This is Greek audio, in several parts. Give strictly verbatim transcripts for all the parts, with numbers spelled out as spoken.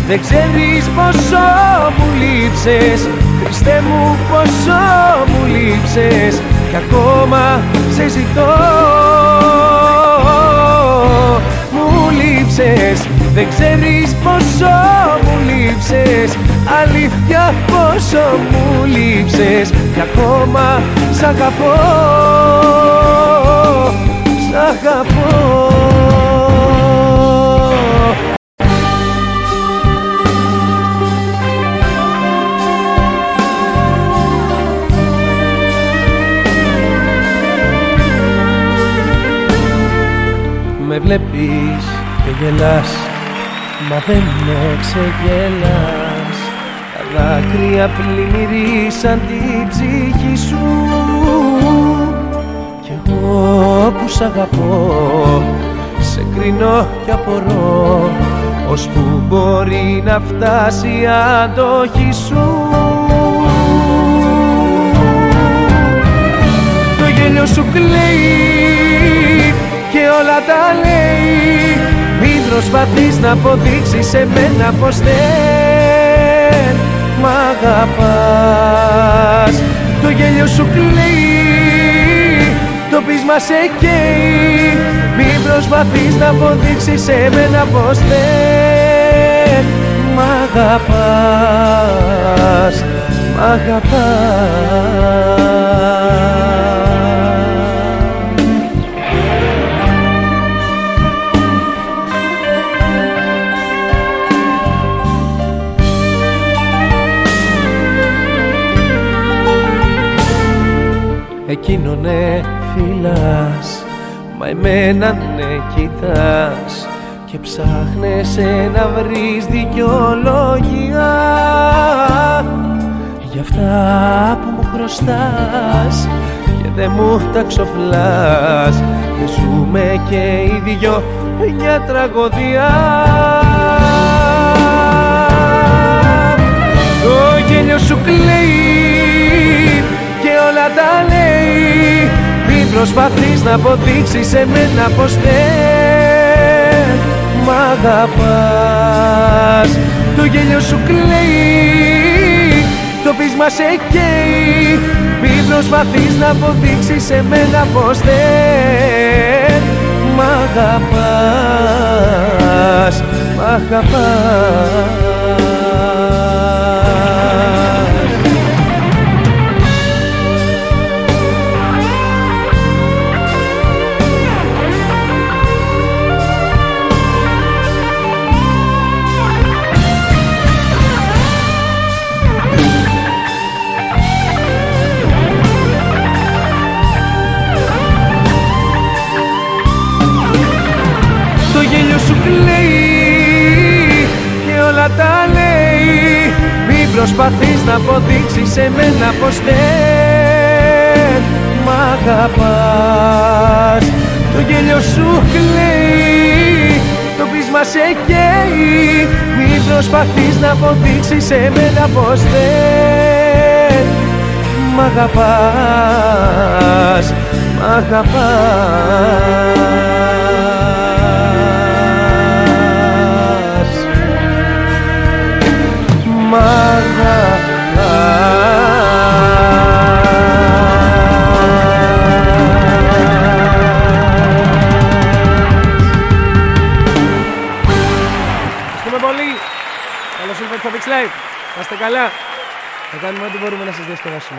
Δεν ξέρεις πόσο μου λείψες, Χριστέ μου πόσο μου λείψες, κι ακόμα σε ζητώ. Μου λείψες, δεν ξέρεις πόσο μου λείψες, αλήθεια πόσο μου λείψες, κι ακόμα σ' αγαπώ, σ' αγαπώ. Με βλέπεις και γελάς, μα δεν με ξεγελάς. Τα δάκρυα πλημμυρίσαν την ψυχή σου, κι εγώ που σ' αγαπώ σε κρίνω κι απορώ, ώσπου μπορεί να φτάσει η αντοχή σου. Το γέλιο σου κλαίει και όλα τα λέει, μην προσπαθείς να αποδείξεις σε μένα πως δεν μ' αγαπάς. Το γέλιο σου κλαίει, το πείσμα σε καίει, μην προσπαθείς να αποδείξεις σε μένα πως δεν μ' αγαπάς, μ' αγαπάς. Εκείνο ναι φυλάς, μα εμένα ναι κοιτάς, και ψάχνεσαι να βρεις δικαιολογία για αυτά που μου χρωστάς και δεν μου τα ξοφλάς, και ζούμε και οι δυο μια τραγωδία. Το γέλιο σου κλαίει και όλα τα λέει, μην προσπαθείς να αποδείξεις σε μένα πως δεν μ' αγαπάς. Το γέλιο σου κλαίει, το πείσμα σε καίει, μην προσπαθείς να αποδείξεις σε μένα πως δεν μ' αγαπάς, μ' αγαπάς. Το γέλιο σου κλαίει και όλα τα λέει, μην προσπαθείς να αποδείξεις σε μένα πως δεν μ' αγαπάς. Το γέλιο σου κλαίει, το πείσμα σε καίει, μην προσπαθείς να αποδείξεις σε μένα πως δεν μ' αγαπάς, μ' αγαπάς. Μ' ευχαριστούμε πολύ. Καλώς ήρθατε στο Big Live. Να είστε καλά. Θα κάνουμε ό,τι μπορούμε να σας διασκεδάσουμε.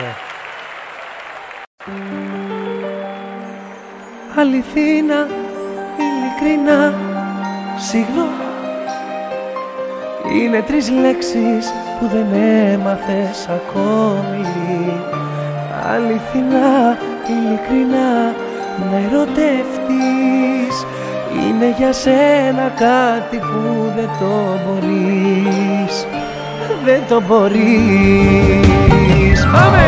Αληθίνα, ειλικρινά, συγγνώμη, είναι τρεις λέξεις που δεν έμαθες ακόμη. Αληθινά, ειλικρινά, να ερωτεύτης, είναι για σένα κάτι που δεν το μπορείς, δεν το μπορείς. Πάμε!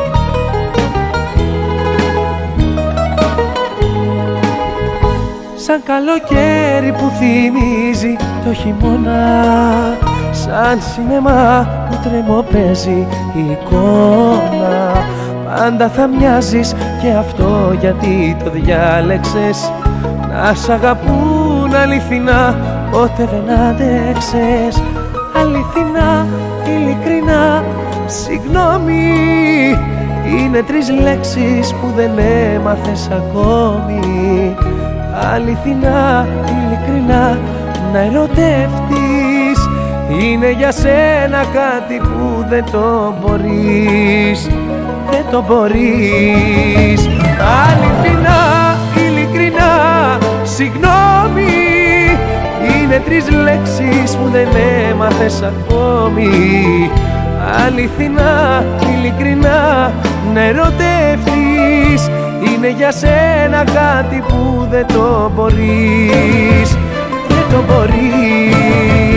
Σ' σαν καλοκαίρι που θυμίζει το χειμώνα, σαν σινεμά που τρεμοπαίζει η εικόνα. Πάντα θα μοιάζεις και αυτό γιατί το διάλεξες, να σ' αγαπούν αληθινά, ποτέ δεν άντεξες. Αληθινά, ειλικρινά, συγγνώμη, είναι τρεις λέξεις που δεν έμαθες ακόμη. Αληθινά, ειλικρινά, να ερωτεύτης, είναι για σένα κάτι που δεν το μπορείς, δεν το μπορείς. Αληθινά, ειλικρινά, συγγνώμη, είναι τρεις λέξεις που δεν έμαθες ακόμη. Αληθινά, ειλικρινά, να ερωτεύτης, είναι για σένα κάτι που δεν το μπορείς, δεν το μπορείς.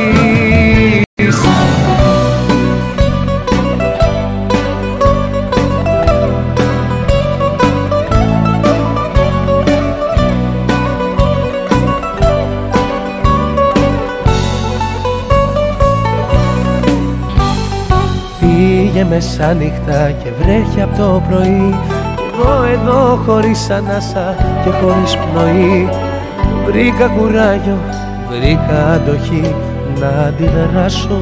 Πήγε μεσάνυχτα και βρέχει από το πρωί, εγώ εδώ χωρίς ανάσα και χωρίς πνοή. Βρήκα κουράγιο, βρήκα αντοχή να αντιδράσω.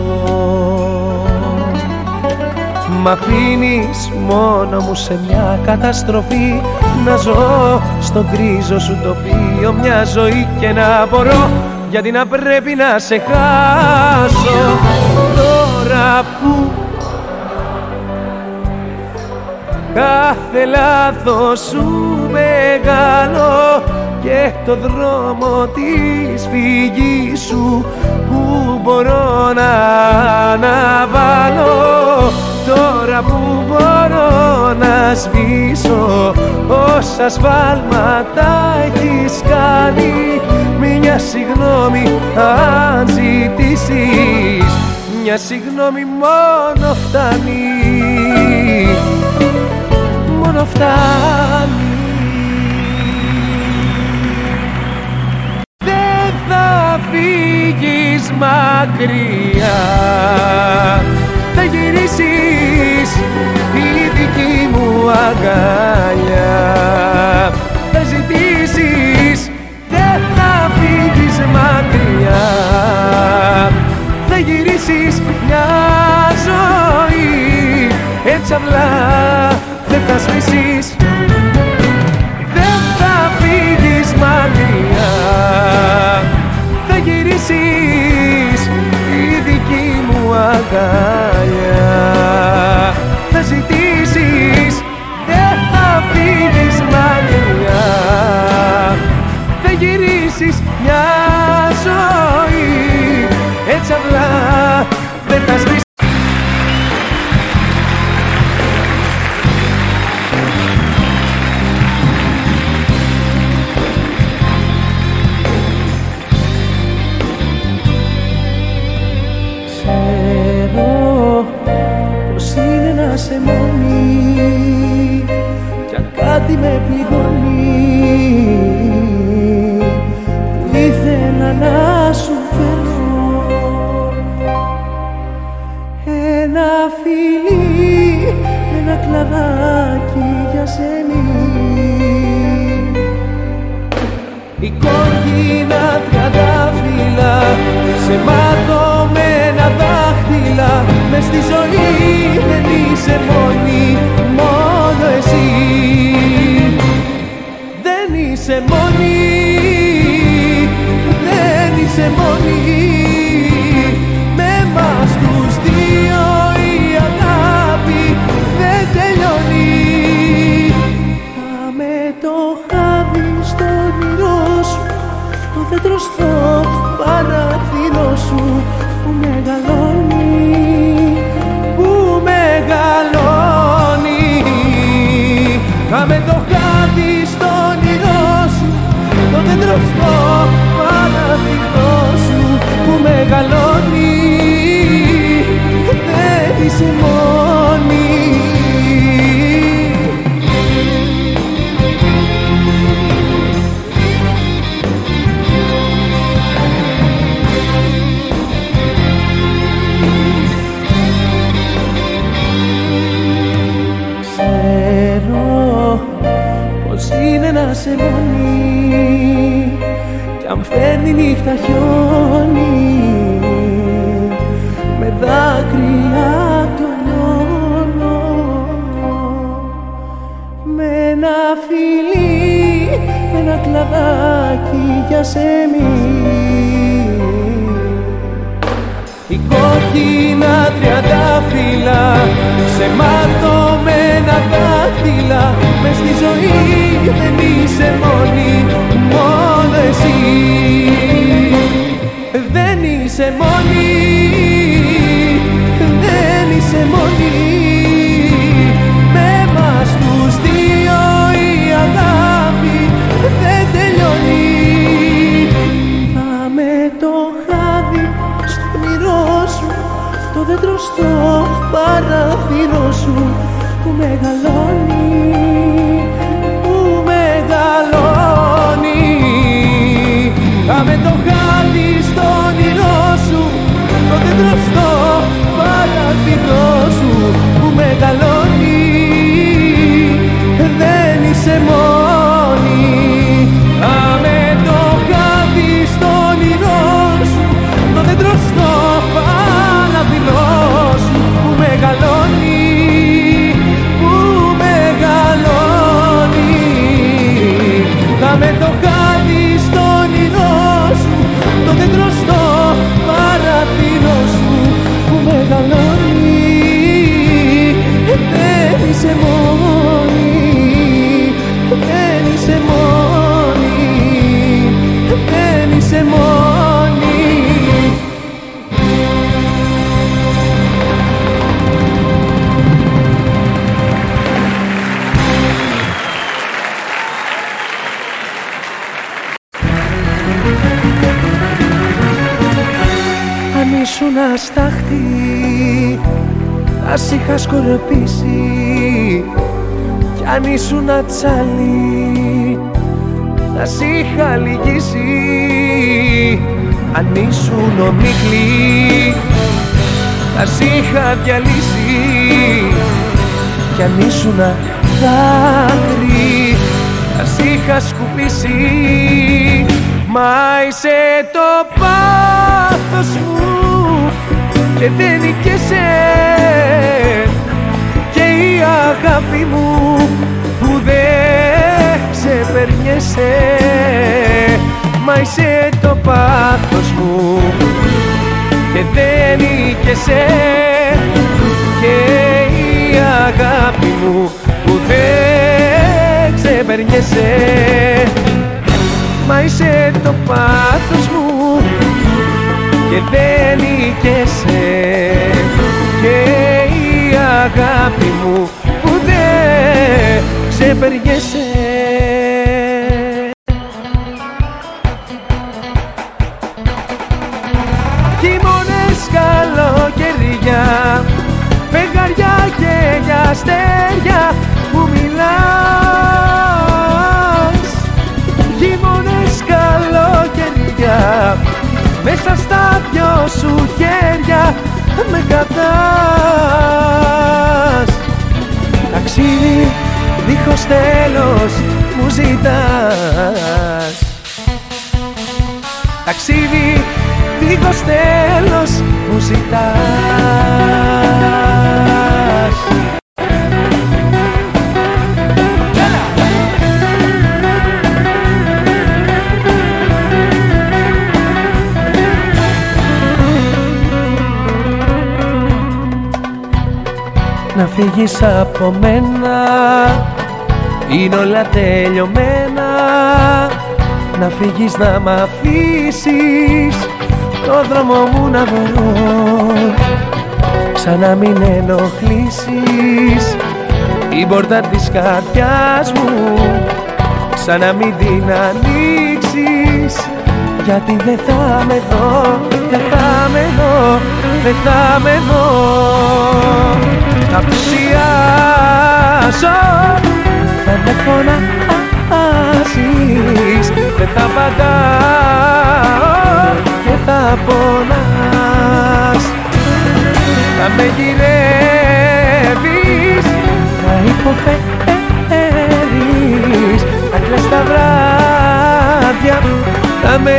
Μ' αφήνεις μόνο μου σε μια καταστροφή, να ζω στο γκρίζο σου τοπίο μια ζωή και να μπορώ, γιατί να πρέπει να σε χάσω. Τώρα που κάθε λάθος σου μεγάλο και το δρόμο της φυγής σου που μπορώ να αναβάλω, τώρα που μπορώ να σβήσω όσα σφάλματα έχεις κάνει, μια συγγνώμη αν ζητήσεις, μια συγγνώμη μόνο φτάνει, μόνο φτάνει. Δεν θα φύγεις μακριά, θα γυρίσεις η δική μου αγκαλιά, θα ζητήσεις. Δεν θα φύγεις μακριά, θα γυρίσεις μια ζωή, έτσι απλά δεν θα σβήσεις. Δεν θα φύγεις μακριά, θα γυρίσεις η δική μου αγκαλιά, θα ζητήσεις. Δεν θα φύγεις μακριά, θα γυρίσεις μια ζωή, έτσι απλά δεν θα σβήσεις. Σε μόνη κι αν κάτι με πληγώνει, που ήθελα να σου φέρω ένα φιλί, ένα κλαδάκι για σένα. Η κόκκινα τριαντάφυλλα σε ματωμένα δάχτυλα, μες στη ζωή δεν είσαι μόνη, μόνο εσύ. Δεν είσαι μόνη, δεν είσαι μόνη, με εμάς τους δύο η αγάπη δεν τελειώνει. Κάμε το χάδι στο όνειρό σου, το δέντρο στο παράθυρο σου που μεγαλώνει, που μεγαλώνει. Κάμε το χάδι στο όνειρό σου, το δέντρο στο παράθυρο σου που μεγαλώνει, δεν είσαι μόνη. να σε μόνη κι αν φέρνει νύχτα χιόνι με δάκρυα τονώνω με ένα φιλί, με ένα κλαδάκι για σεμί. Η κόκκινα τριαντάφυλλα σε ματωμένα δάχτυλα μες στη ζωή δεν είσαι μόνη, μόνο εσύ. Δεν είσαι μόνη, δεν είσαι μόνη. Με μας τους δύο η αγάπη δεν τελειώνει. Θα με το χάδι στο όνειρό σου, το δέντρο στο παράθυρο σου που μεγαλώνει, που μεγαλώνει. Θα με το χάδι στο όνειρό σου, το δέντρο στο παράθυρο σου που μεγαλώνει. Δεν είσαι μόνη. Θα με το χάδι στο όνειρό σου, το δέντρο στο παράθυρο σου που μεγαλώνει, που μεγαλώνει. Θα με το χάδι στο όνειρό σου, το δέντρο στο παράθυρο σου που μεγαλώνει. Δεν είσαι μόνη, δεν είσαι μόνη, δεν είσαι μόνη. Αν ήσουν αστάχτη θα σ' είχα σκορπίσει κι αν ήσουν τσάλι θα σ' είχα λυγίσει. Αν ήσουν ομίχλη θα σ' είχα διαλύσει κι αν ήσουν δάκρυ θα σ' είχα σκουπίσει. Μα είσαι το πάθος μου και δεν νικέσαι και η αγάπη μου που δεν ξεπερνιέσαι. Μα είσαι το πάθος μου και δεν νικέσαι και η αγάπη μου που δεν ξεπερνιέσαι. Μα είσαι το πάθος μου και δεν νικέσαι και η αγάπη μου που δεν ξεπερνιέσαι. Χειμώνες, καλοκαιριά, φεγγαριά και για αστέρια που μιλάς. Χειμώνες, καλοκαιριά, μέσα στα δυο σου χέρια με κρατάς. Ταξίδι δίχως τέλος μου ζητάς. Ταξίδι δίχως τέλος μου ζητάς. Να φύγεις από μένα, είναι όλα τελειωμένα. Να φύγεις, να μ' αφήσεις το δρόμο μου να βρω. Ξανά μην ενοχλήσεις την πόρτα της καρδιάς μου. Ξανά μην την ανοίξεις, γιατί δεν θα με δω, δεν θα με δω, δεν θα με δω. Θα πλησιάσω, θα με φωνάζεις, δεν θα απαντάω και θα πονάς. Θα με γυρεύεις, θα υποφέρεις, θα κλαις τα βράδια, θα με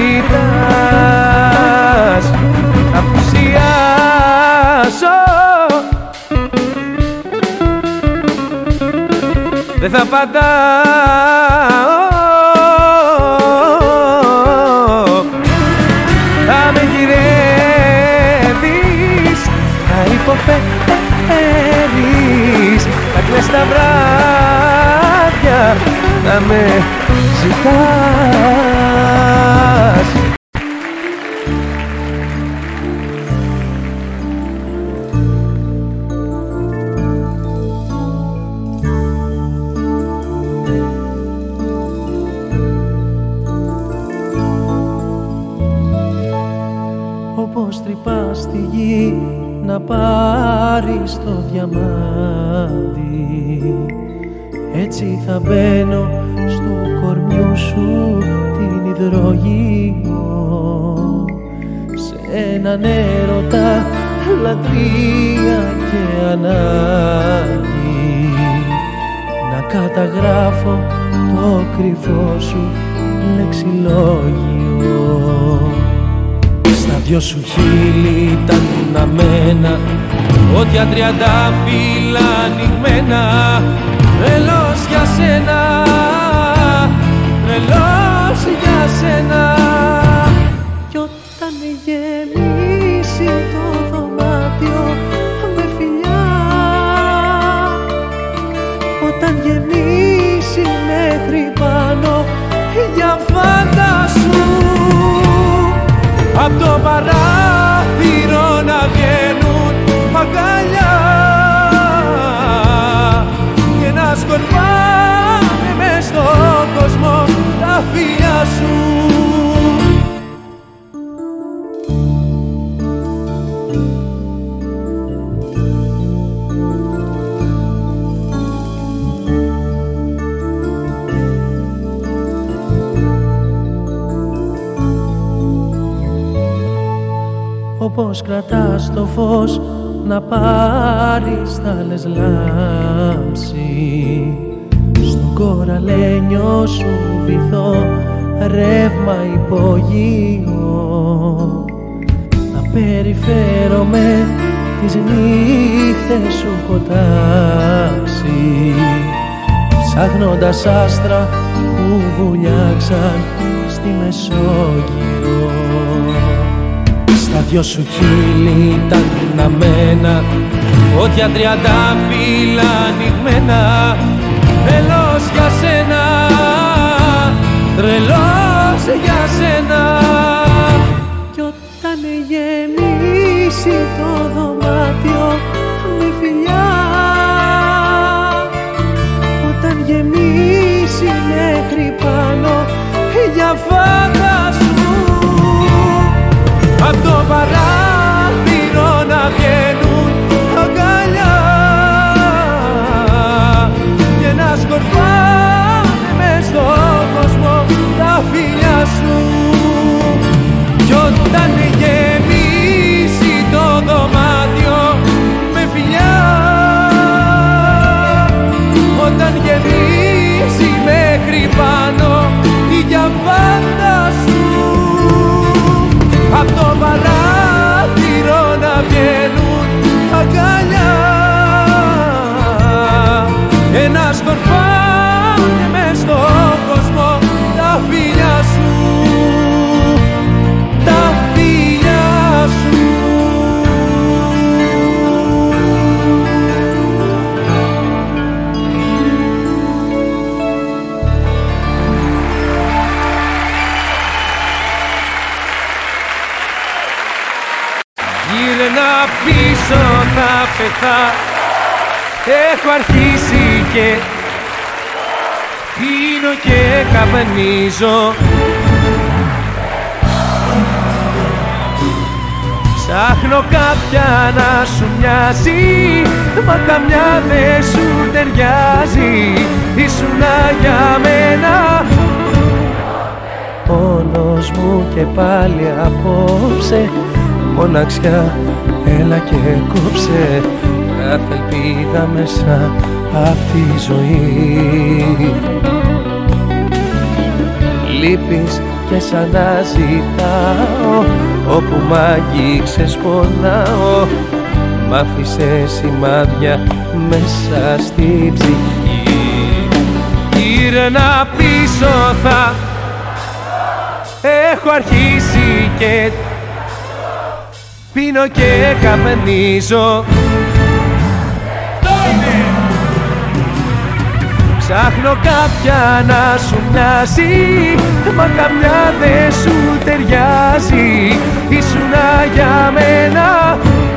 ζητάς, θα απουσιάσω, δεν θα απαντάω, θα με γυρεύεις, θα υποφέρεις, θα κλαις τα βράδια, θα με ζητάς. Όπως τρυπάς στη γη να πάρεις το διαμάντι, έτσι θα μπαίνω στο κορμιού σου την υδρογείο, σε έναν έρωτα, λατρεία και ανάγκη, να καταγράφω το κρυφό σου λεξιλόγιο. Στα δυο σου χείλη τα ναμένα, φώτια τριαντάφυλλα ανοιγμένα, τρελός για σένα, τρελός για σένα. Κι όταν γεμίσει το δωμάτιο με φιλιά, όταν γεμίσει μέχρι πάνω, για φάντασου απ' το παράθυρο να βγαίνουν αγκαλιά και να σκορπάνε μες στον κόσμο τα φιλιά σου. Όπως κρατάς το φως να πάρεις τα άλλες λάμψη, στον κοραλένιο σου βυθό ρεύμα υπογείο, να περιφέρομαι τις νύχτες σου έχω τάξει, ψάχνοντας άστρα που βουλιάξαν στη Μεσόγειο. Στα δυο σου χείλη τα ναμένα, φώτια τριαντάφυλλα ανοιγμένα, τρελός για σένα, τρελός για σένα. Κι όταν γεμίσει το δωμάτιο με φιλιά, όταν γεμίσει μέχρι πάνω, για φάντασου απ' το παράθυρο να βγαίνουν αγκαλιά και να σκορπάνε μες στον κόσμο τα φιλιά σου. Κι όταν γεμίσει το δωμάτιο με φιλιά, όταν γεμίσει μέχρι πάνω, για φάντασου απ' το παράθυρο να βγαίνουν αγκαλιά και να σκορπάνε μες στον κόσμο τα φιλιά σου, τα φιλιά σου. Γύρνα πίσω θα πεθά, έχω αρχίσει και πίνω και καπνίζω. Ψάχνω κάποια να σου μοιάζει, μα καμιά δεν σου ταιριάζει. Ήσουνα για μένα πόνος μου και πάλι απόψε, μοναξιά έλα και κόψε κάθε ελπίδα μέσα απ' τη ζωή. λείπεις και σαν να ζητάω, όπου μ' αγγίξες πονάω, μ' άφησες σημάδια μέσα στη ψυχή. Γύρνα πίσω θα έχω αρχίσει και πίνω και καπνίζω. Ψάχνω κάποια να σου μοιάζει, μα καμιά δεν σου ταιριάζει. Ήσουνα για μένα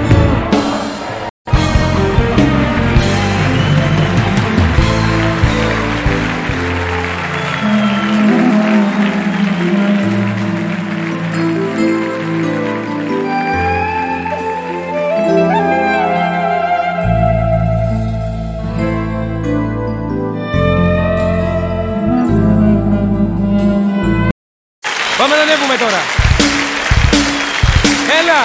Πάμε να ανέβουμε τώρα. Έλα.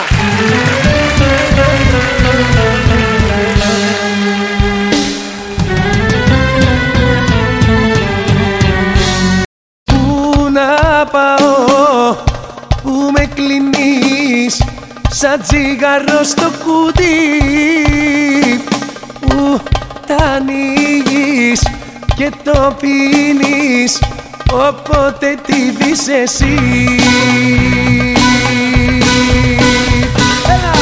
Πού να πάω, πού με κλείνεις σαν τσιγάρο στο κουτί, που τα ανοίγεις και το πίνεις όποτε τη δεις εσύ. Έλα!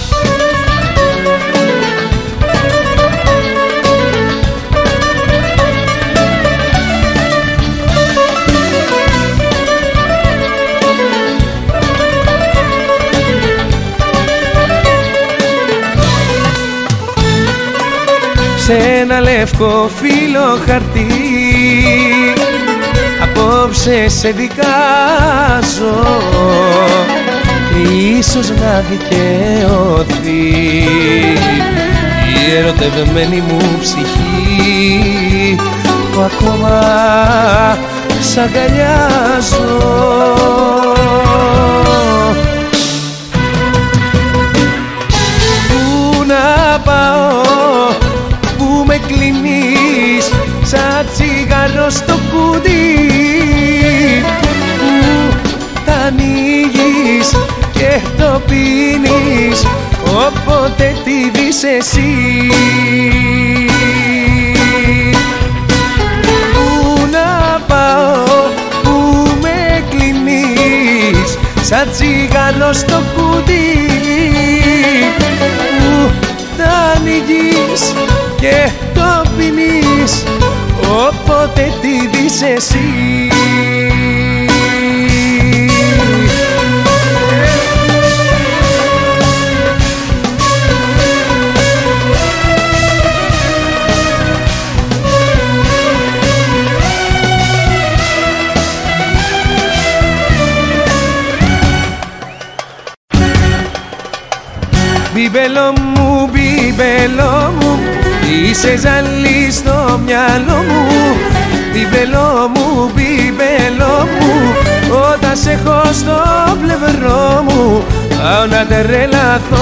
Σε ένα λευκό φύλλο χαρτί απόψε σε δικάζω, ίσως να δικαιωθεί η ερωτευμένη μου ψυχή, που ακόμα σ' αγκαλιάζω. Πού να πάω, πού με κλείνεις σαν τσιγάρο στο κουτί, που τα ανοίγεις και το πίνεις όποτε τη δεις εσύ. Πού να πάω, πού με κλείνεις σαν τσιγάρο στο κουτί, που τα ανοίγεις και το πίνεις όποτε τη δεις εσύ. Μπιμπέλο μου, μπιμπέλο μου, είσαι ζαλί στο μυαλό μου. Μπιμπέλο μου, μπιμπέλο μου, όταν σε έχω στο πλευρό μου πάω να τρελαθώ.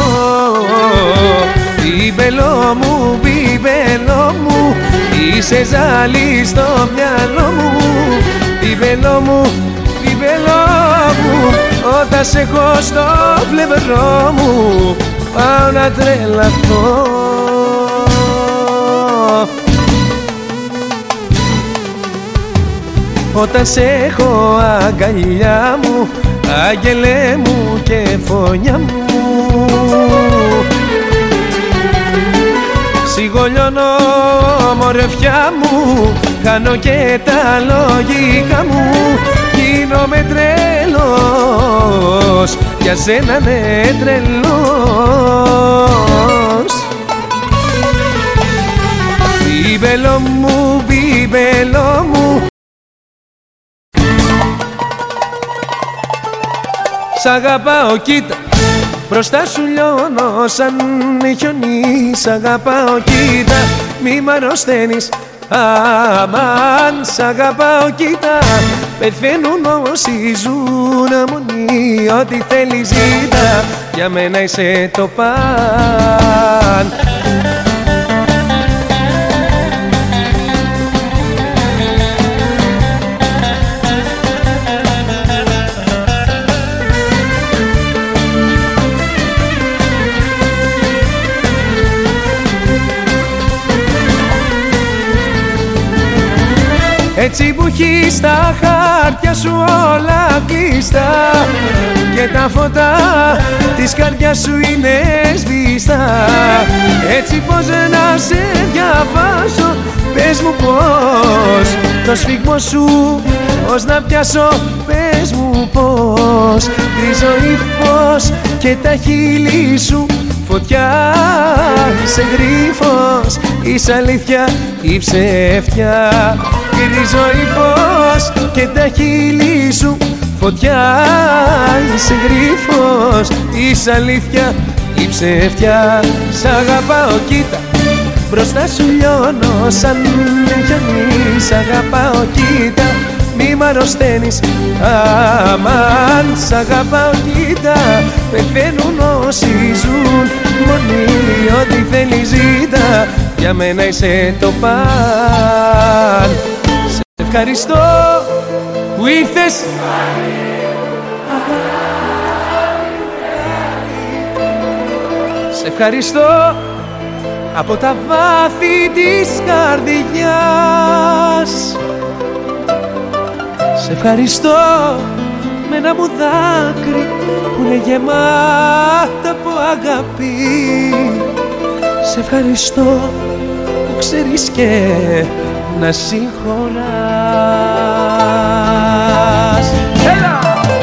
Μπιμπέλο μου, μπιμπέλο μου, είσαι ζαλί στο μυαλό μου. Μπιμπέλο μου, μπιμπέλο μου, όταν σε έχω στο πλευρό μου πάω να τρελαθώ. Όταν σε έχω αγκαλιά μου, άγγελέ μου και φωνιά μου, σιγολιώνω μορφιά μου, χάνω και τα λογικά μου, γίνομαι τρελός, για σένα ναι τρελός. Μπιμπέλο μου, μπιμπέλο μου, σ' αγαπάω κοίτα, μπροστά σου λιώνω σαν χιονί. Σ' αγαπάω κοίτα, μη μ' αρρωσταίνεις, αμάν. Σ' αγαπάω κοίτα, πεθαίνουν όσοι ζουν αμονή. Ό,τι θέλεις ζήτα, για μένα είσαι το παν. έτσι που έχεις τα χάρτια σου όλα κλειστά και τα φώτα της καρδιάς σου είναι σβηστά. Έτσι πως να σε διαβάσω, πες μου πως το σφίγμο σου πως να πιάσω, πες μου πως γκρίζο ύφος και τα χείλη σου φωτιά. Είσαι γρίφος, είσαι αλήθεια ή ψεύτια. Γκρίζο ύφος και τα χείλη σου φωτιά. Είσαι γρίφος, είσαι αλήθεια ή ψεύτια. Σ' αγαπάω κοίτα, μπροστά σου λιώνω σαν γιονί. Σ' αγαπάω κοίτα, μη μ' αρρωσταίνεις αμάν. Σ' αγαπάω κοίτα, πεθαίνουν όσοι ζουν μόνοι. Ό,τι θέλεις ζήτα, για μένα είσαι το παν. Σε ευχαριστώ που ήρθες. Σε ευχαριστώ από τα βάθη της καρδιάς. Σε ευχαριστώ με ένα μου δάκρυ που είναι γεμάτα από αγάπη. Σε ευχαριστώ που ξέρεις και να συγχωράς. Έλα!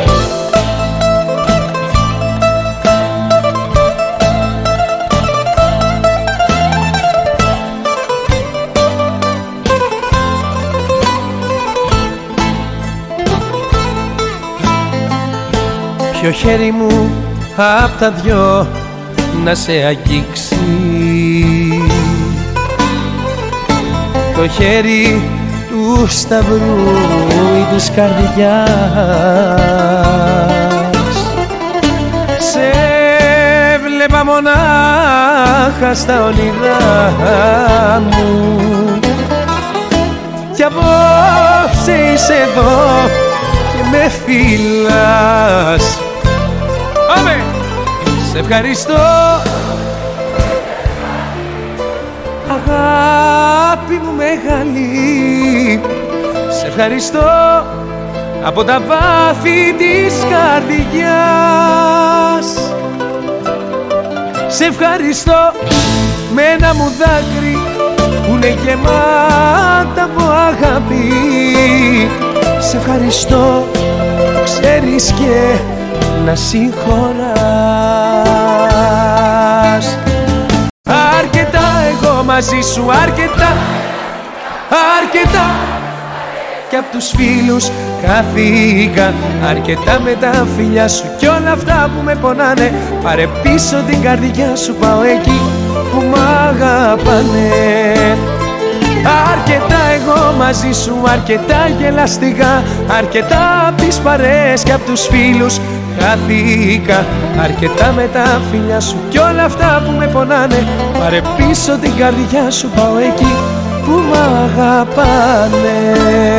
Ποιο χέρι μου απ' τα δυο να σε αγγίξει, το χέρι του σταυρού ή της καρδιάς. Σε βλέπα μονάχα στα όνειρά μου κι απόψε είσαι εδώ και με φυλάς. Πάμε! Σε ευχαριστώ αγάπη μου μεγάλη. Σε ευχαριστώ από τα βάθη της καρδιάς. Σε ευχαριστώ με ένα μου δάκρυ που είναι γεμάτα από αγάπη. Σε ευχαριστώ, ξέρεις και να συγχωράς. Αρκετά εγώ μαζί σου, αρκετά, αρκετά κι απ' τους φίλους χάθηκα. Αρκετά με τα φιλιά σου κι όλα αυτά που με πονάνε. Πάρε πίσω την καρδιά σου, πάω εκεί που μ' αγαπάνε. Αρκετά εγώ μαζί σου, αρκετά γελαστικά. Αρκετά απ' τις παρέες και απ' τους φίλους χάθηκα. Αρκετά με τα φιλιά σου κι όλα αυτά που με πονάνε. Πάρε πίσω την καρδιά σου, πάω εκεί που μ' αγαπάνε.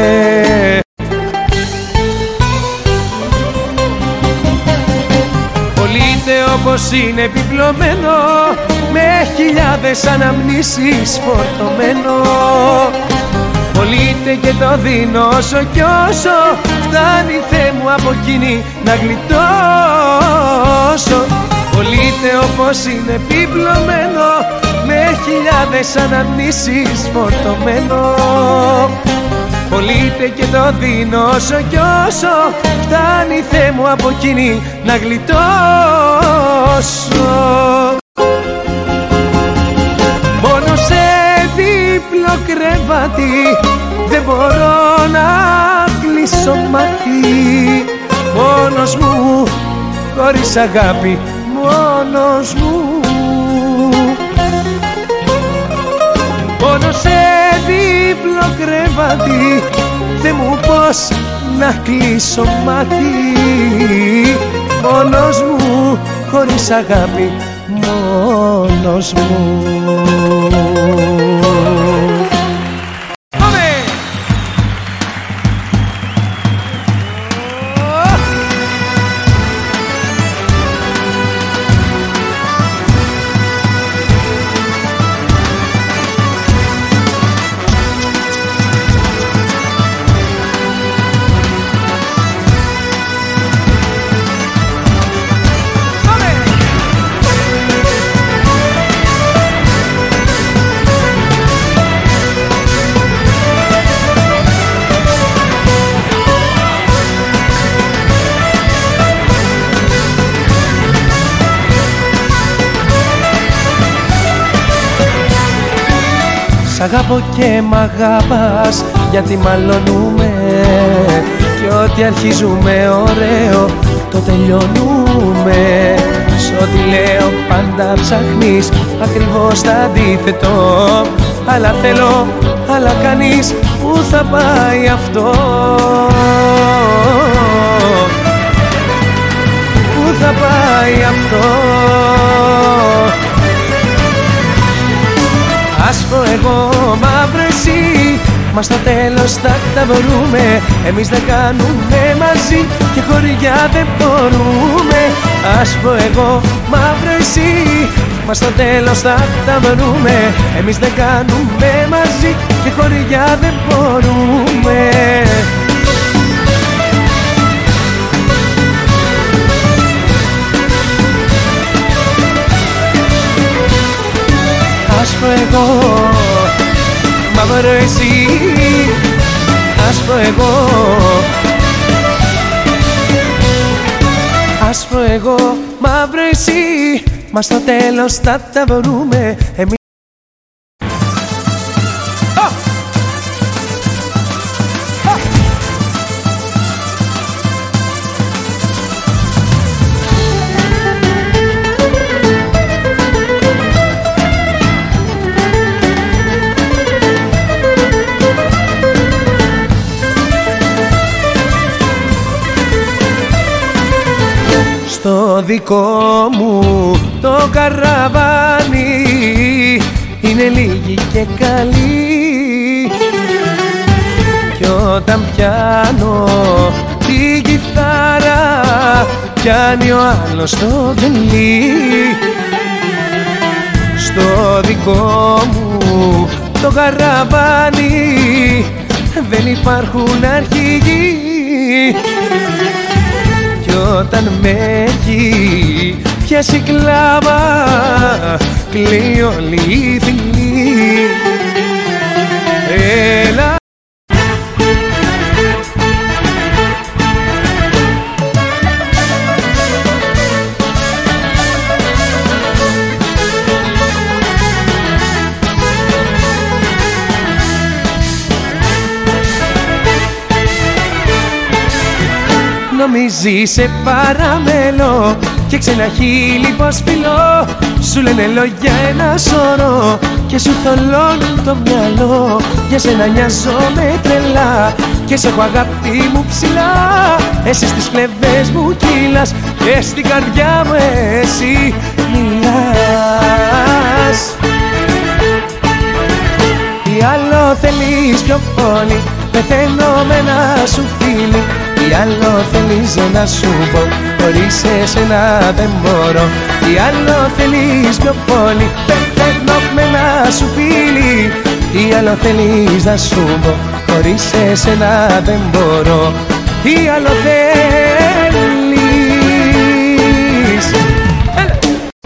Πολύτε όπως είναι επιπλωμένο, με χιλιάδες αναμνήσεις φορτωμένο. Πολύτε και το δίνω όσο κι όσο φτάνει, Θεέ μου, από εκείνη να γλιτώσω. Πολύτε όπως είναι επιπλωμένο, με χιλιάδες αναμνήσεις φορτωμένο. Πολύτε και το δίνω όσο κι όσο φτάνει, Θεέ μου, από εκείνη να γλιτώσω. Μόνο σε δίπλο κρεβάτι δεν μπορώ να κλείσω μάτι. Μόνος μου, χωρίς αγάπη, μόνος μου. Μόνο σε δίπλο κρεβάτι, Θε μου πώς να κλείσω μάτι. Μόνος μου, χωρίς αγάπη, μόνος μου. αγαπώ και μ' αγαπάς, γιατί μαλώνουμε κι ό,τι αρχίζουμε ωραίο το τελειώνουμε. Σ' ό,τι λέω πάντα ψάχνεις ακριβώς το αντίθετο, αλλά θέλω, αλλά κάνεις, πού θα πάει αυτό, πού θα πάει αυτό. Άσπρο εγώ, μαύρο εσύ, μα στο τέλος θα τα βρούμε. Εμείς δεν κάνουμε μαζί και χωριά δεν μπορούμε. Άσπρο εγώ, μαύρο εσύ, μα στο τέλος θα τα βρούμε. Εμείς δεν κάνουμε μαζί και χωριά δεν μπορούμε. Άσπρο εγώ, μαύρο εσύ, άσπρο εγώ, άσπρο εγώ, μαύρο εσύ, μα στο τέλος θα τα βρούμε. Εμείς το δικό μου το καραβάνι είναι λίγοι και καλοί, κι όταν πιάνω την κιθάρα πιάνει ο άλλος το βελί. Στο δικό μου το καραβάνι δεν υπάρχουν αρχηγοί, όταν με έχει πιάσει κλάβα κλαίει όλη η θηλή. Έλα νομίζει σε παραμέλω και ξένα χείλη πως φιλώ. Σου λένε λόγια ένα σωρό και σου θολώνουν το μυαλό. Για σένα νοιάζομαι τρελά και σε έχω αγάπη μου ψηλά. Εσύ στις φλεβές μου κύλας και στην καρδιά μου εσύ μιλάς. Τι άλλο θέλεις πιο πολύ, πεθαίνω με ένα σου φίλι. Τι άλλο θέλεις να σου πω, χωρίς εσένα δεν μπορώ. Τι άλλο θέλεις πιο πολύ, πεθαίνω με ένα σου φίλι. Τι άλλο θέλεις να σου πω, χωρίς εσένα δεν μπορώ. Τι άλλο θέλεις. Έλα.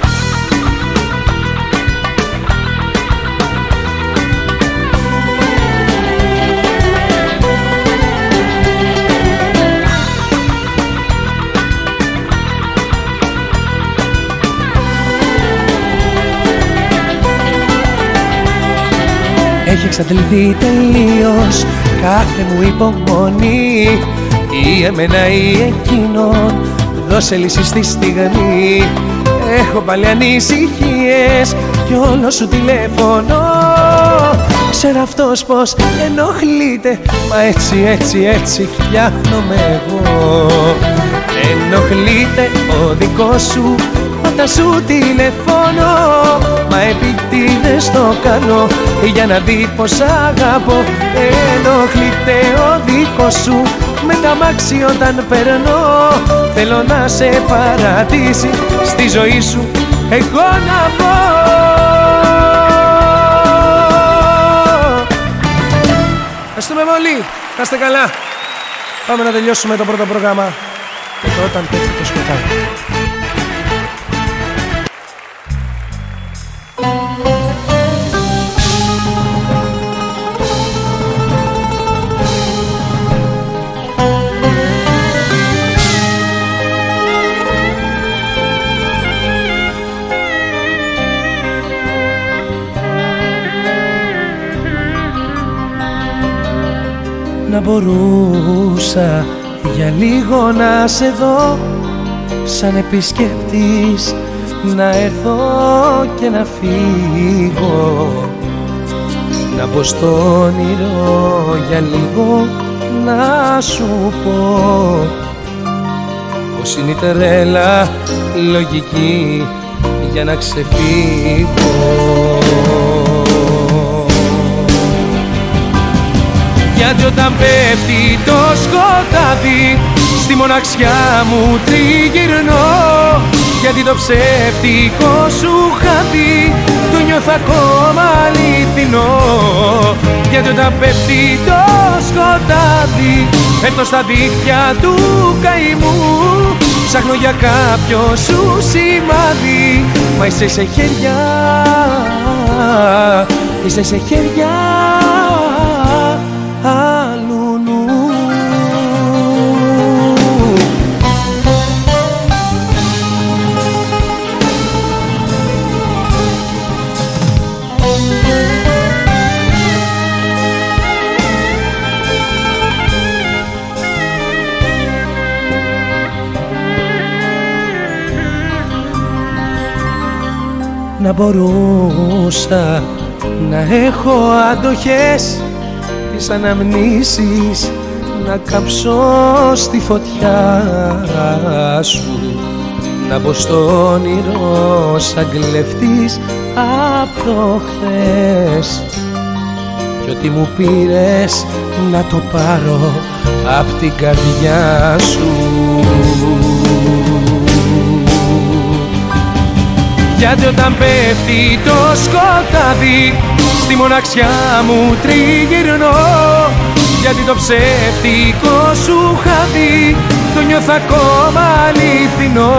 Έχει εξαντληθεί τελείως κάθε μου υπομονή, ή εμένα ή εκείνον, δώσε λύση στη στιγμή. Έχω πάλι ανησυχίες κι όλο σου τηλέφωνο. Ξέρω αυτός πως ενοχλείται, μα έτσι έτσι έτσι φτιάχνομαι εγώ. Ενοχλείται ο δικός σου όταν σου τηλεφώνω, μα επιτίδες το κάνω για να δει πως αγαπώ. Ενοχλείται ο δικός σου με τα μάξι όταν περνώ. Θέλω να σε παρατήσει στη ζωή σου εγώ να πω. Ευχαριστούμε πολύ, να είστε καλά. Πάμε να τελειώσουμε το πρώτο πρόγραμμα και το όταν πέφτει το σκοτάδι. μπορούσα για λίγο να σε δω σαν επισκέπτης, να έρθω και να φύγω, να μπω στο όνειρο για λίγο, να σου πω πως είναι η τρέλα λογική για να ξεφύγω. Γιατί όταν πέφτει το σκοτάδι στη μοναξιά μου τριγυρνώ, γιατί το ψεύτικο σου χάδι το νιώθω ακόμα αληθινό. Γιατί όταν πέφτει το σκοτάδι πέφτω στα δίχτυα του καημού, ψάχνω για κάποιο σου σημάδι, μα είσαι σε χέρια, είσαι σε χέρια άλλου νου. Να μπορούσα να έχω αντοχές τις αναμνήσεις, να κάψω στη φωτιά σου, να μπω στο όνειρο σαν κλεφτής απ' το χθες, κι ό,τι μου πήρες να το πάρω απ' την καρδιά σου. Γιατί όταν πέφτει το σκοτάδι στη μοναξιά μου τριγυρνώ, γιατί το ψεύτικο σου χάδι το νιώθω ακόμα αληθινό.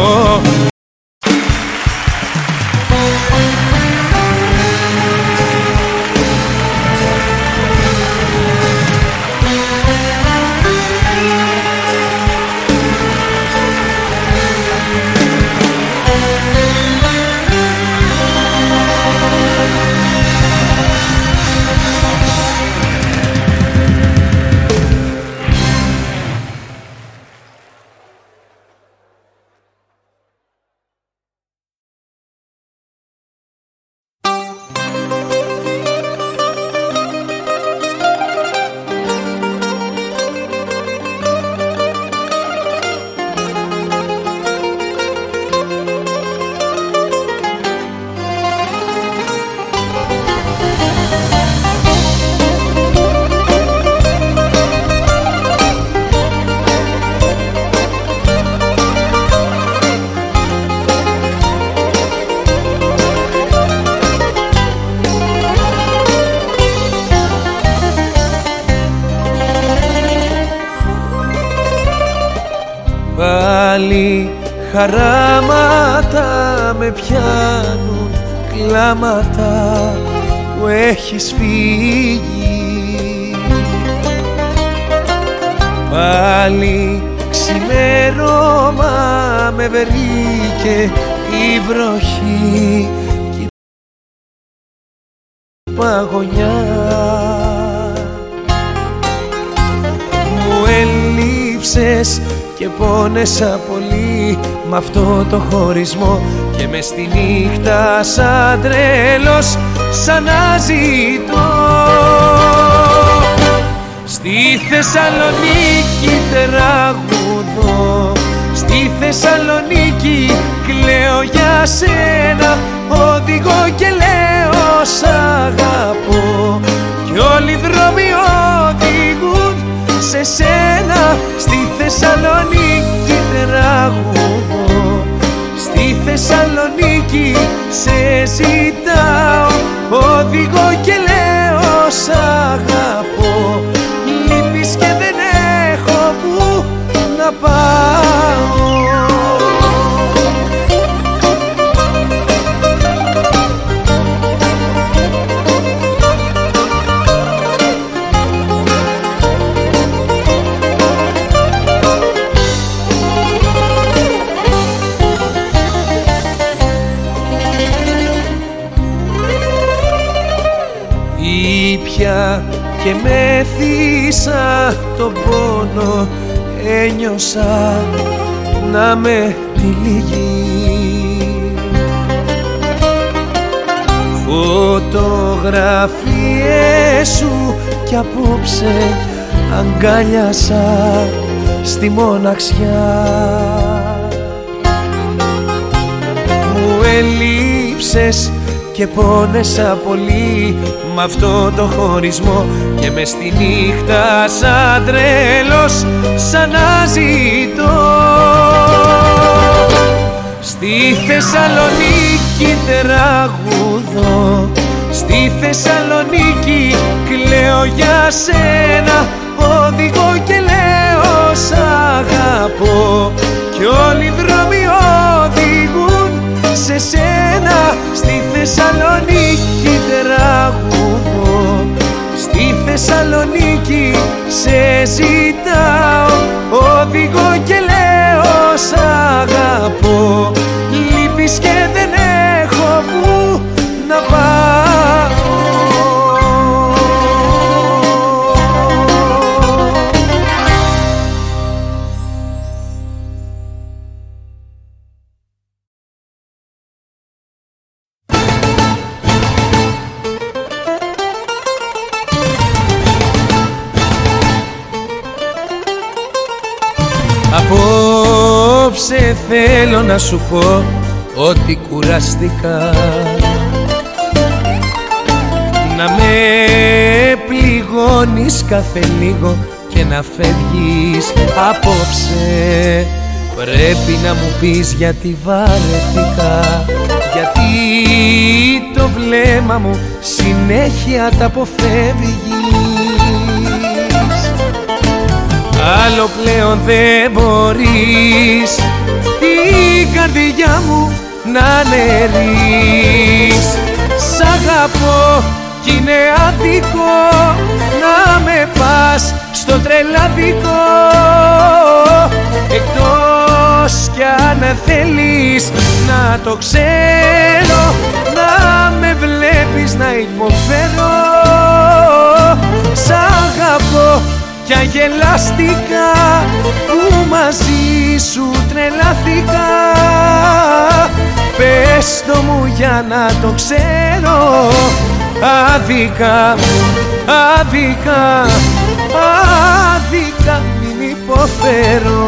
Πάλι χαράματα με πιάνουν, κλάματα που έχεις φύγει. Πάλι ξημέρωμα με βρήκε η βροχή κι η παγωνιά. Μου έλειψες και πόνεσα πολύ μ' αυτό το χωρισμό, και μες στη νύχτα σαν τρέλος σαν να ζητώ. Στη Θεσσαλονίκη τραγουδώ, στη Θεσσαλονίκη κλαίω για σένα, οδηγώ και λέω σ' αγαπώ, κι όλοι οι δρόμοι οδηγούν σε σένα. Στη Θεσσαλονίκη τραγουδώ, στη Θεσσαλονίκη σε ζητάω, οδηγώ και λέω σ' αγαπώ, λείπεις και δεν έχω που να πάω. Ήπια και μέθησα τον πόνο, ένιωσα να με τυλίγει. Φωτογραφίες σου κι απόψε αγκάλιασα στη μοναξιά. Μου ελείψες και πόνεσα πολύ μ' αυτό το χωρισμό και μες στη νύχτα σαν τρέλος σαν να ζητώ. Στη Θεσσαλονίκη τραγουδώ, στη Θεσσαλονίκη κλαίω για σένα, οδηγώ και λέω σ' αγαπώ κι όλοι οι δρόμοι οδηγούν σε σένα. Στη Θεσσαλονίκη τραγουδώ, στη Θεσσαλονίκη σε ζητάω, οδηγώ και λέω σ' αγαπώ, λείπεις και δεν έχω που να πάω. Απόψε θέλω να σου πω ότι κουραστικά να με πληγώνεις κάθε λίγο και να φεύγεις. Απόψε πρέπει να μου πεις γιατί βαρεθήκα, γιατί το βλέμμα μου συνέχεια τα αποφεύγεις. Άλλο πλέον δεν μπορείς την καρδιά μου να αναιρείς. Σ' αγαπώ κι είναι άδικο να με πας στο τρελαδικό, εκτός κι αν θέλεις να το ξέρω, να με βλέπεις να υποφέρω. Σ' αγαπώ κι αγελαστικά που μαζί σου τρελαθήκα. Πες το μου για να το ξέρω, άδικα, άδικα, άδικα μην υποφέρω.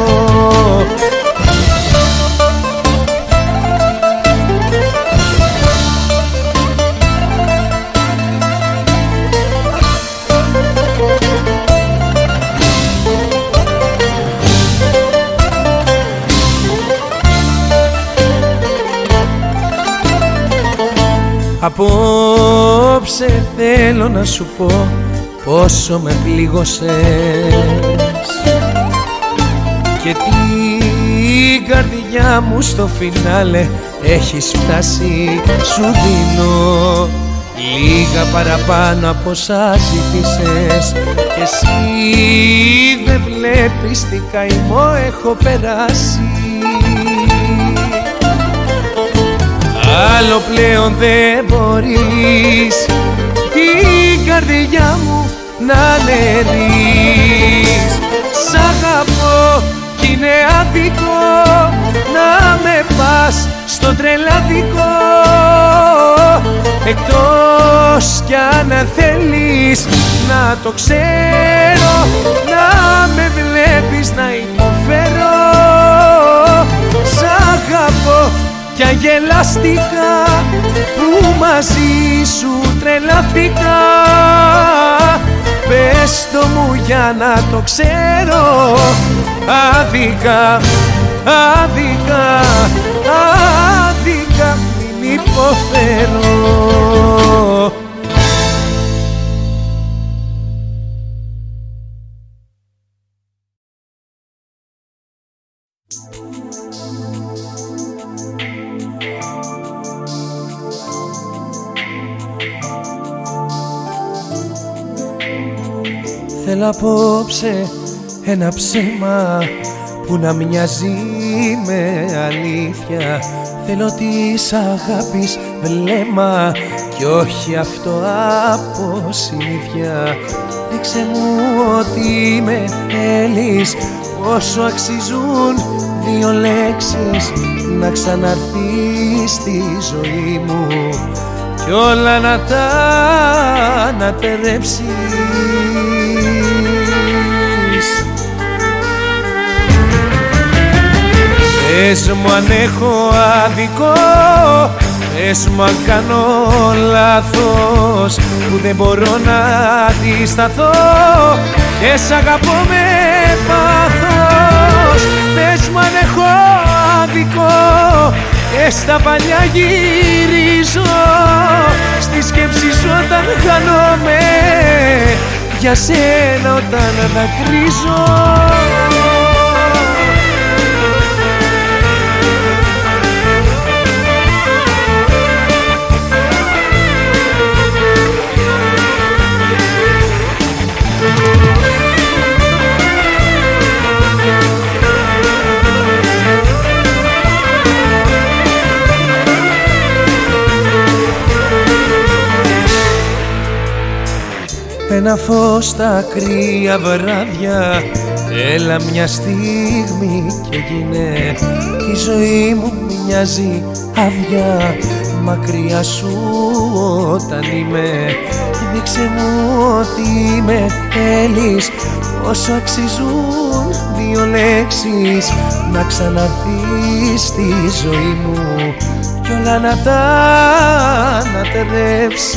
Απόψε θέλω να σου πω πόσο με πλήγωσες και την καρδιά μου στο φινάλε έχεις φτάσει. Σου δίνω λίγα παραπάνω από όσα ζήτησες και εσύ δεν βλέπεις τι καημό έχω περάσει. Άλλο πλέον δεν μπορείς την καρδιά μου να αναιρείς. Σ' αγαπώ κι είναι άδικο να με πας στο τρελαδικό, εκτός κι αν θέλεις να το ξέρω, να με βλέπεις να υποφέρω. Σ' αγαπώ κι αγελαστικά που μαζί σου τρελαθήκα. Πες το μου για να το ξέρω, άδικα, άδικα, άδικα μην υποφέρω. Θέλω απόψε ένα ψέμα που να μοιάζει με αλήθεια. Θέλω της αγάπης βλέμμα κι όχι αυτό από συνήθεια. Δείξε μου ότι με θέλεις, πόσο αξίζουν δύο λέξεις να ξαναρθείς στη ζωή μου κι όλα να τα ανατερέψεις. Πες μου αν έχω άδικο, πες μου αν κάνω λάθος, που δεν μπορώ να αντισταθώ και σ' αγαπώ με πάθος. Πες μου αν έχω άδικο και στα παλιά γυρίζω, στη σκέψη σου όταν χάνομαι, για σένα όταν δακρύζω. Ένα φως στα κρύα βράδια, έλα μια στιγμή και γίνε. Η ζωή μου μοιάζει άδεια, μακριά σου όταν είμαι. Δείξε μου ότι με θέλεις, πόσο αξίζουν δύο λέξεις να ξαναρθείς στη ζωή μου κι όλα να τα ανατερέψεις.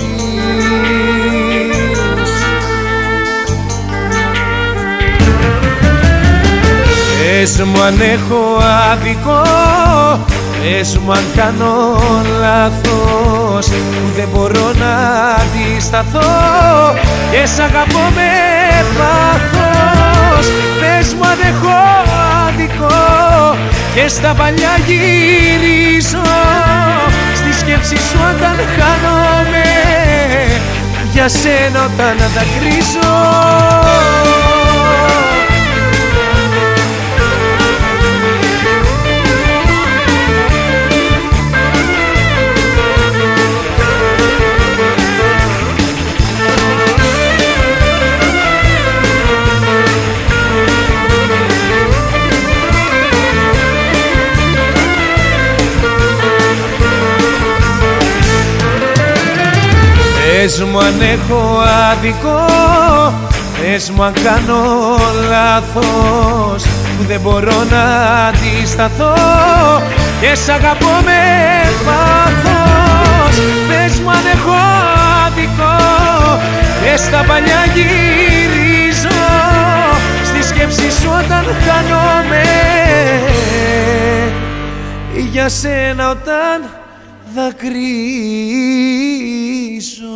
Πες μου αν έχω άδικο, πες μου αν κάνω λάθος, που δεν μπορώ να αντισταθώ και σ' αγαπώ με πάθος. Πες μου αν έχω άδικο και στα παλιά γυρίζω, στη σκέψη σου όταν χάνομαι, για σένα όταν δακρύζω. Πες μου αν έχω άδικο, πες μου αν κάνω λάθος, που δεν μπορώ να αντισταθώ και σ' αγαπώ με πάθος. Πες μου αν έχω άδικο και στα παλιά γυρίζω, στη σκέψη σου όταν χάνομαι, για σένα όταν δακρύζω.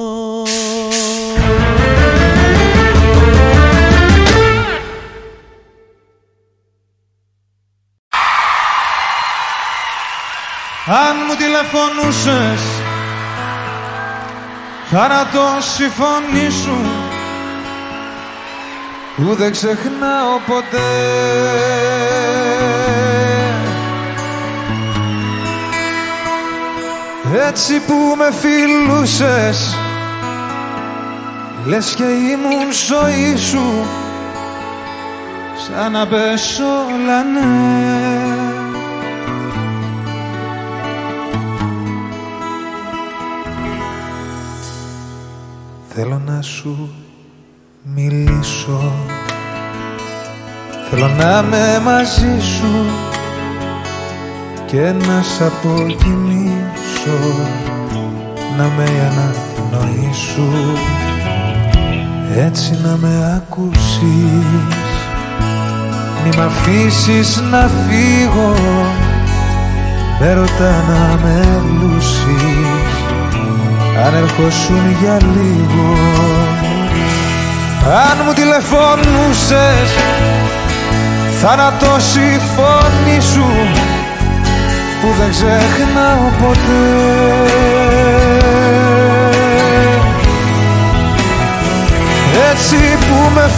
Αν μου τηλεφωνούσες, θάνατος η φωνή σου που δεν ξεχνάω ποτέ. Έτσι που με φιλούσες, λες και ήμουν ζωή σου, σαν να πες όλα ναι. Θέλω να σου μιλήσω, θέλω να είμαι μαζί σου και να σ' αποκοιμήσω, να με ανανοήσω, έτσι να με ακούσεις. Μη μ' αφήσεις να φύγω, με ρωτά να με λούσεις, αν ερχόσουν για λίγο. Αν μου τηλεφωνούσες, θάνατος η φωνή σου που δεν ξεχνάω ποτέ. Έτσι που με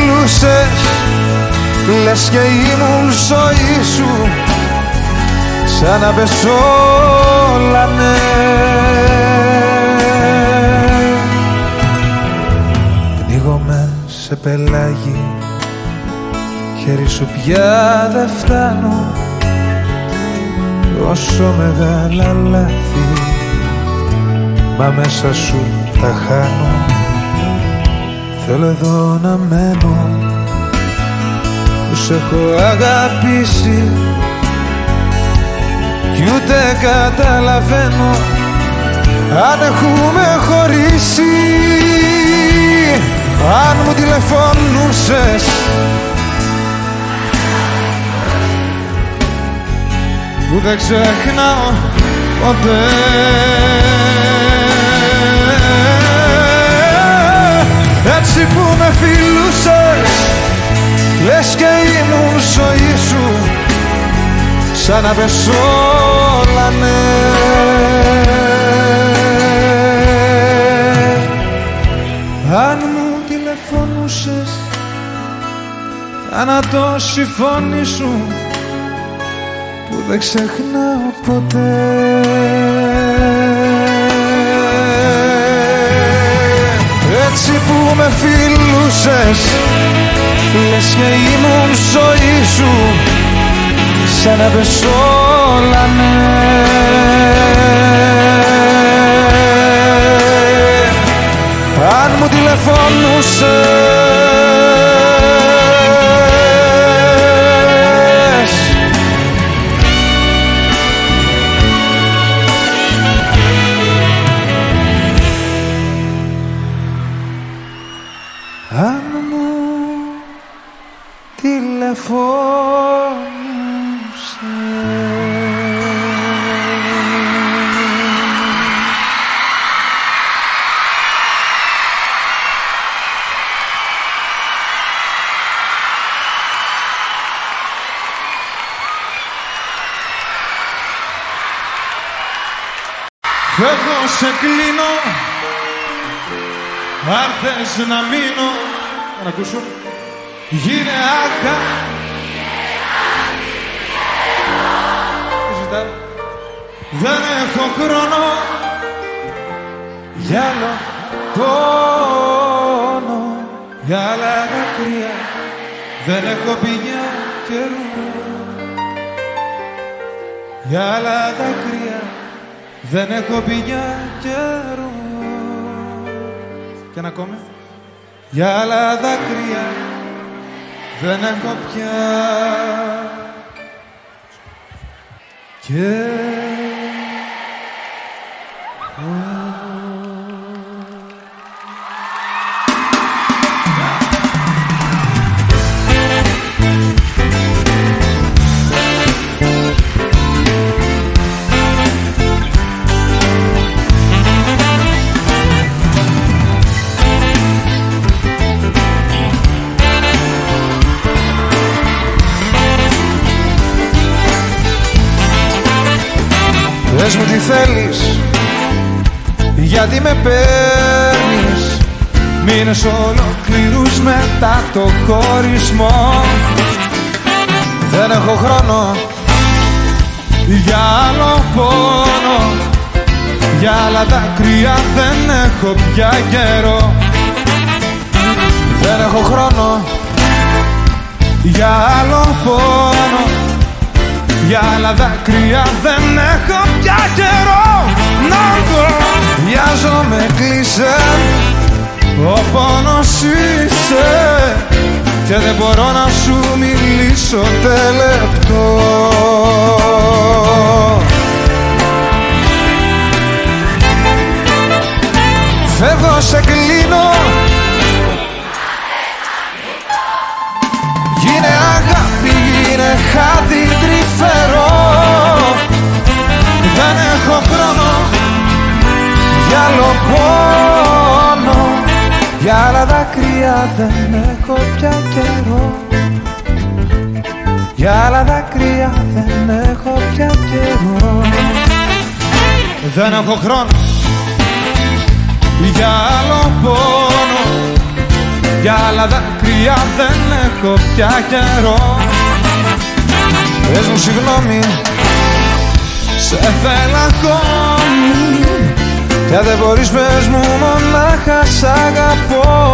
φιλούσες, λες και ήμουν ζωή σου, σαν να πεσόλανε. Πνίγομαι σε πελάγι, χέρι σου πια δεν φτάνω. Τόσο μεγάλα λάθη, μα μέσα σου τα χάνω. Θέλω εδώ να μένω, που σ' έχω αγαπήσει κι ούτε καταλαβαίνω αν έχουμε χωρίσει. Αν μου τηλεφωνούσες που δεν ξεχνάω ποτέ, έτσι που με φιλούσες λες και ήμουν ζωή σου, σαν να πεσόλανε. Αν μου τηλεφωνούσες θάνατος η φωνή σου που δεν ξεχνάω ποτέ. Έτσι που με φιλούσες λες και ήμουν ζωή σου, σαν να πεσόλανε. Αν μου τηλεφωνούσες, αν μου τηλεφωνούσες. Φεύγω, σε κλείνω, αν θες να μείνω. Να ακούσω. Γίνε άκα. Δεν έχω χρόνο για άλλο πόνο, για άλλα δάκρυα. Δεν έχω πηγιά καιρό, για άλλα δάκρυα. Δεν έχω πηγιά καιρό. Και ένα ακόμα. Για άλλα δάκρυα δεν έχω πια καιρό. Πες μου τι θέλεις, γιατί με παίρνεις μήνες ολόκληρους μετά το χωρισμό. Δεν έχω χρόνο για άλλο πόνο, για άλλα δάκρυα δεν έχω πια καιρό. Δεν έχω χρόνο για άλλο πόνο, για άλλα δάκρυα δεν έχω πια καιρό. Να το βιάζομαι, κλείσε, ο πόνος είσαι και δεν μπορώ να σου μιλήσω τελεπτό. Φεύγω, σε κλείνω, γίνε αγάπη, γίνε χάδι τρυφερό. Δεν έχω χρόνο για άλλο πόνο, για άλλα δάκρυα δεν έχω πια καιρό. Για άλλα δάκρυα δεν έχω πια καιρό. Δεν έχω χρόνο για άλλο πόνο, για άλλα δάκρυα δεν έχω πια καιρό. Πες μου συγγνώμη σε θέλω ακόμη. Και αν δεν μπορείς πες μου μονάχα σ' αγαπώ.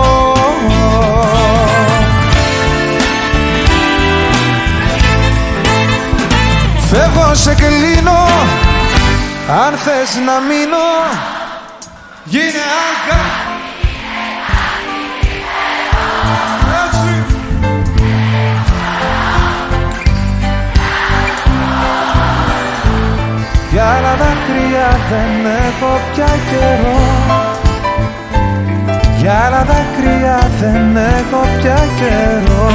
Φεύγω σε κλείνω, αν θες να μείνω, γίνε αγάπη. Για άλλα δάκρυα δεν έχω πια καιρό. Για άλλα δάκρυα δεν έχω πια καιρό.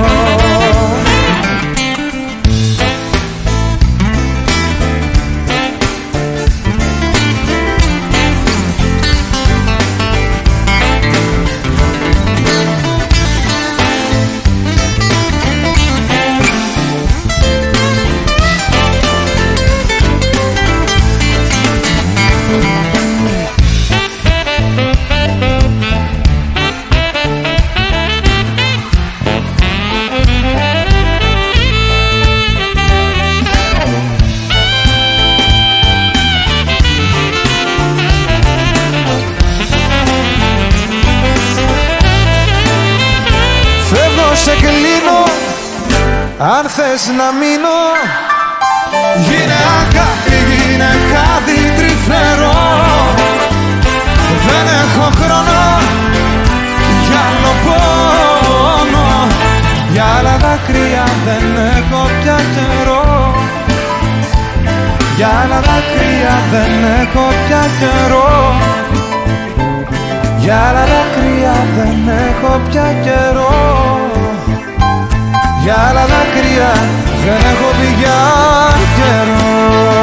Σε κλείνω, αν θες να μείνω, γίνε αγάπη, γίνε κάτι τρυφερό. Δεν έχω χρόνο για άλλο πόνο. Για άλλα δάκρυα δεν έχω πια καιρό. Για άλλα δάκρυα δεν έχω πια καιρό. Για άλλα δάκρυα δεν έχω πια καιρό. Για άλλα δάκρυα δεν έχω πια καιρό.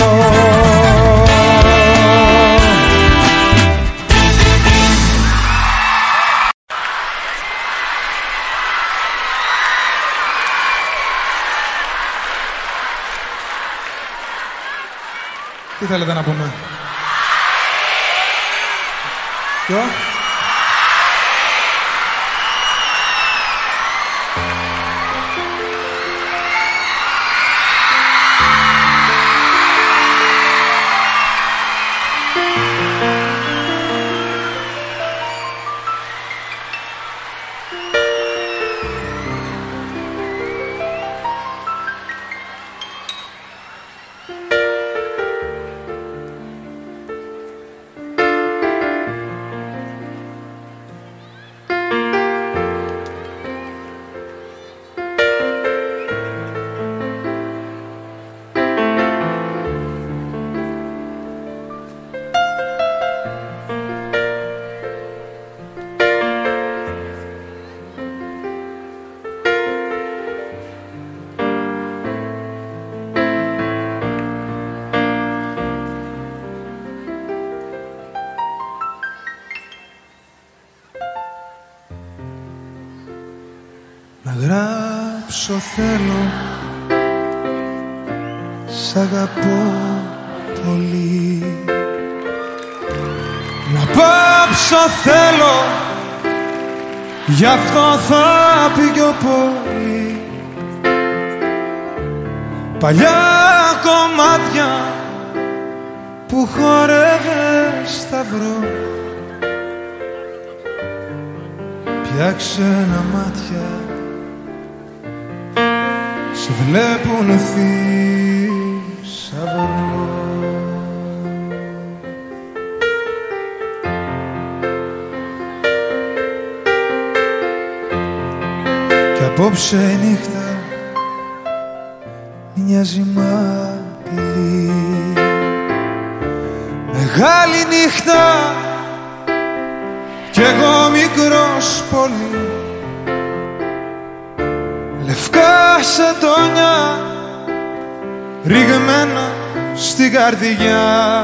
Τι θέλετε να πούμε? Ποιο? Να γράψω θέλω, σ' αγαπώ πολύ. Να πάψω θέλω, γι' αυτό θα πήγω πολύ. Παλιά κομμάτια που χορεύες σταυρό, πια ξένα μάτια σε βλέπουν θησαυρό. Κι απόψε νύχτα μοιάζει μαπηλή, μεγάλη νύχτα κι εγώ μικρός πολύ. Λευκά σατόνια ρηγμένα στην καρδιά,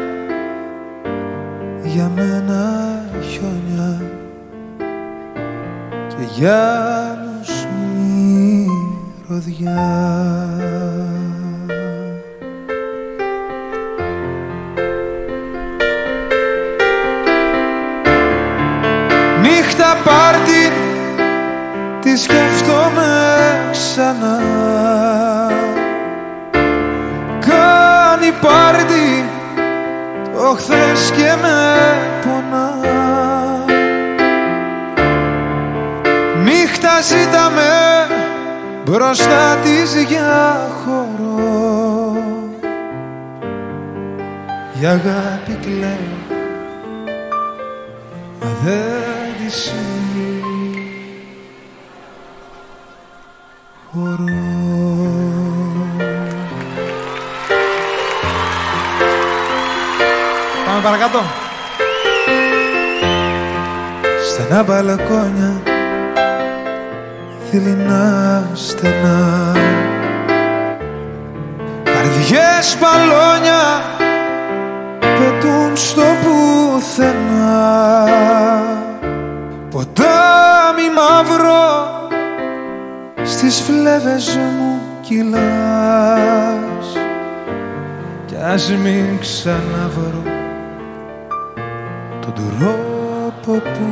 για μένα χιόνια και για άλλους μυρωδιά. Νύχτα πάρτι τη σκέφτομαι ξανά, κάνει πάρτι μπροστά της για χώρο. Η αγάπη κλαίω, μα δεν τη συγχωρώ. Πάμε παρακάτω. Στενά μπαλκόνια, δειλινά στενά, καρδιές μπαλόνια πετούν στο πουθενά. Ποτάμι μαύρο στις φλέβες μου κυλάς, κι ας μην ξαναβρω τον τρόπο που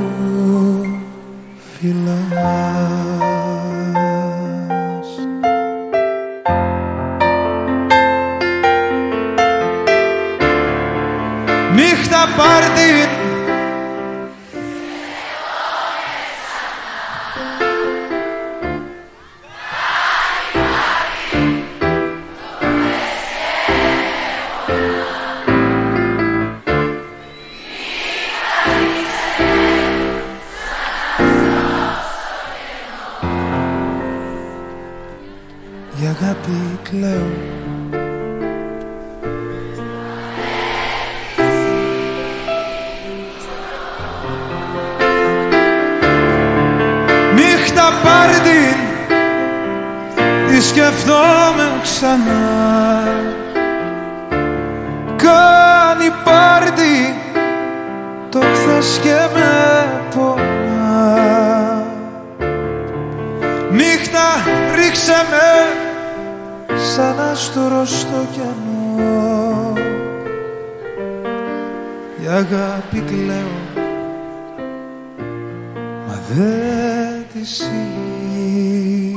φυλάς. Νύχτα πάρτι, η αγάπη κλαίω, νύχτα πάρτι, τη σκεφτόμαι ξανά. Κάνει πάρτι το χθες και με πονά. Νύχτα ρίξε με σαν άστρο στο κενό. Η αγάπη κλαίω, μα δεν τη συγχωρώ.